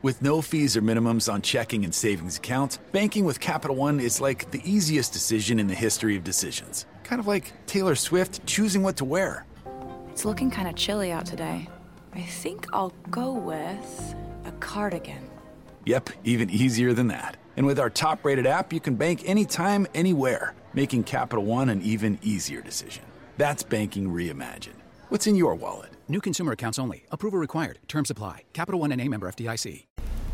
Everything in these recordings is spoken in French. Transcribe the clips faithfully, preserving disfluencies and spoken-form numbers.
With no fees or minimums on checking and savings accounts, banking with Capital One is like the easiest decision in the history of decisions. Kind of like Taylor Swift choosing what to wear. It's looking kind of chilly out today. I think I'll go with a cardigan. Yep, even easier than that. And with our top-rated app, you can bank anytime, anywhere, making Capital One an even easier decision. That's banking reimagined. What's in your wallet? New consumer accounts only. Approval required. Terms apply. Capital One N A member F D I C.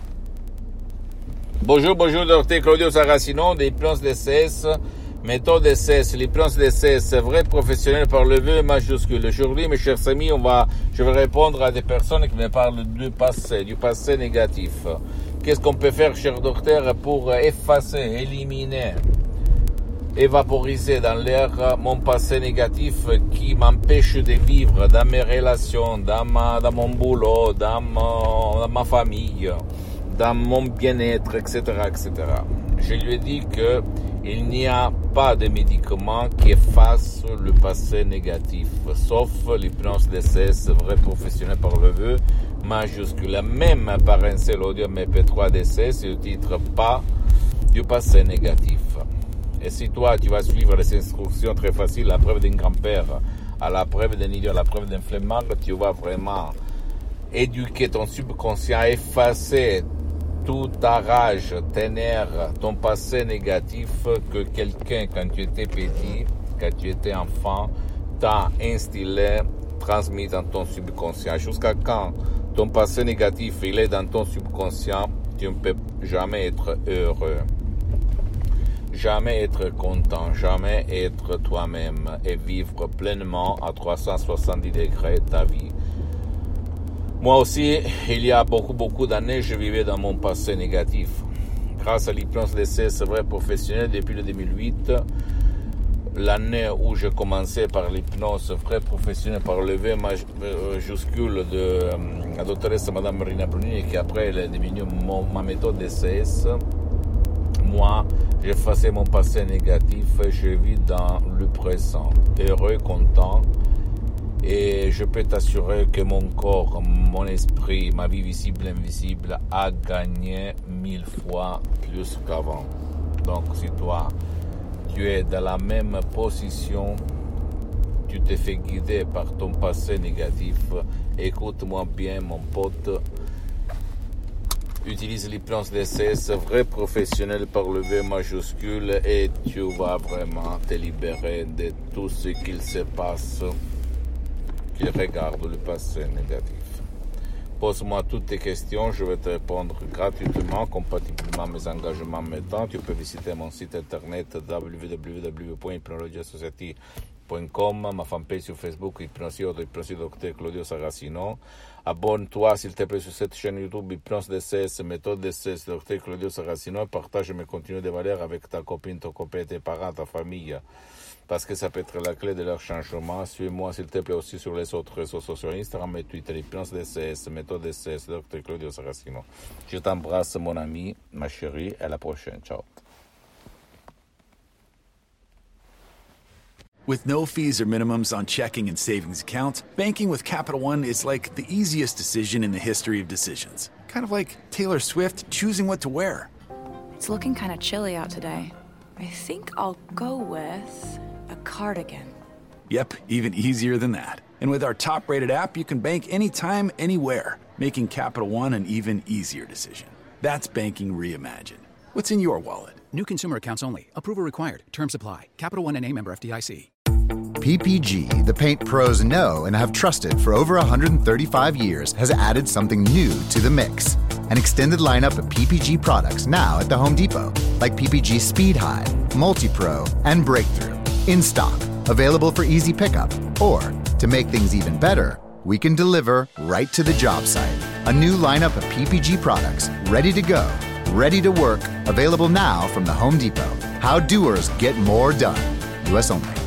Bonjour, bonjour, docteur Claudio Saracino de l'hypnose D C S, méthode D C S, l'hypnose D C S, vrai professionnel par le V majuscule. Aujourd'hui, mes chers amis, on va, je vais répondre à des personnes qui me parlent du passé, du passé négatif. Qu'est-ce qu'on peut faire, cher docteur, pour effacer, éliminer, évaporiser dans l'air mon passé négatif qui m'empêche de vivre dans mes relations, dans, ma, dans mon boulot, dans, mon, dans ma famille, dans mon bien-être, et cetera, et cetera. Je lui ai dit que il n'y a pas de médicament qui efface le passé négatif, sauf l'hypnose D C S, vrai professionnel par le vœu majuscule. Même par un seul audio M P trois D C S, le titre pas du passé négatif. Et si toi, tu vas suivre les instructions très faciles, la preuve d'un grand-père, à la preuve d'un idiot, à la preuve d'un flemmard, tu vas vraiment éduquer ton subconscient, effacer toute ta rage, tes nerfs, ton passé négatif que quelqu'un, quand tu étais petit, quand tu étais enfant, t'a instillé, transmis dans ton subconscient. Jusqu'à quand ton passé négatif, il est dans ton subconscient, tu ne peux jamais être heureux. Jamais être content, jamais être toi-même et vivre pleinement à trois cent soixante-dix degrés ta vie. Moi aussi, il y a beaucoup, beaucoup d'années, je vivais dans mon passé négatif. Grâce à l'hypnose D C S vrai professionnel depuis le deux mille huit, l'année où je commençais par l'hypnose vrai professionnel par le V majuscule de la doctoresse Madame Marina Brunini, qui après elle est devenue mon, ma méthode D C S, moi, j'effaçais mon passé négatif et je vis dans le présent, heureux, content. Et je peux t'assurer que mon corps, mon esprit, ma vie visible et invisible a gagné mille fois plus qu'avant. Donc si toi, tu es dans la même position, tu te fais guider par ton passé négatif, écoute-moi bien mon pote, utilise l'hypnose D C S, vrai professionnel par le V majuscule, et tu vas vraiment te libérer de tout ce qu'il se passe qui regarde le passé négatif. Pose-moi toutes tes questions, je vais te répondre gratuitement, compatiblement à mes engagements maintenant. Tu peux visiter mon site internet w w w point hypnologia society point com, ma fanpage sur Facebook, Hypnosie ou Hypnosie Docteur Claudio Saracino. Abonne-toi s'il te plaît sur cette chaîne YouTube Hypnose D C S, méthode D C S, Docteur Claudio Saracino, et partage mes contenus de valeur avec ta copine, ton copain, tes parents, ta famille, parce que ça peut être la clé de leur changement. Suis-moi s'il te plaît aussi sur les autres réseaux sociaux, Instagram et Twitter, Hypnose D C S, méthode D C S, Docteur Claudio Saracino. Je t'embrasse mon ami, ma chérie, à la prochaine, ciao. With no fees or minimums on checking and savings accounts, banking with Capital One is like the easiest decision in the history of decisions. Kind of like Taylor Swift choosing what to wear. It's looking kind of chilly out today. I think I'll go with a cardigan. Yep, even easier than that. And with our top-rated app, you can bank anytime, anywhere, making Capital One an even easier decision. That's banking reimagined. What's in your wallet? New consumer accounts only. Approval required. Terms apply. Capital One N A member F D I C. P P G, the paint pros know and have trusted for over one hundred thirty-five years, has added something new to the mix. An extended lineup of P P G products now at the Home Depot, like P P G Speed High, Multi-Pro, and Breakthrough. In stock, available for easy pickup. Or, to make things even better, we can deliver right to the job site. A new lineup of P P G products, ready to go, ready to work, available now from the Home Depot. How doers get more done. U S only.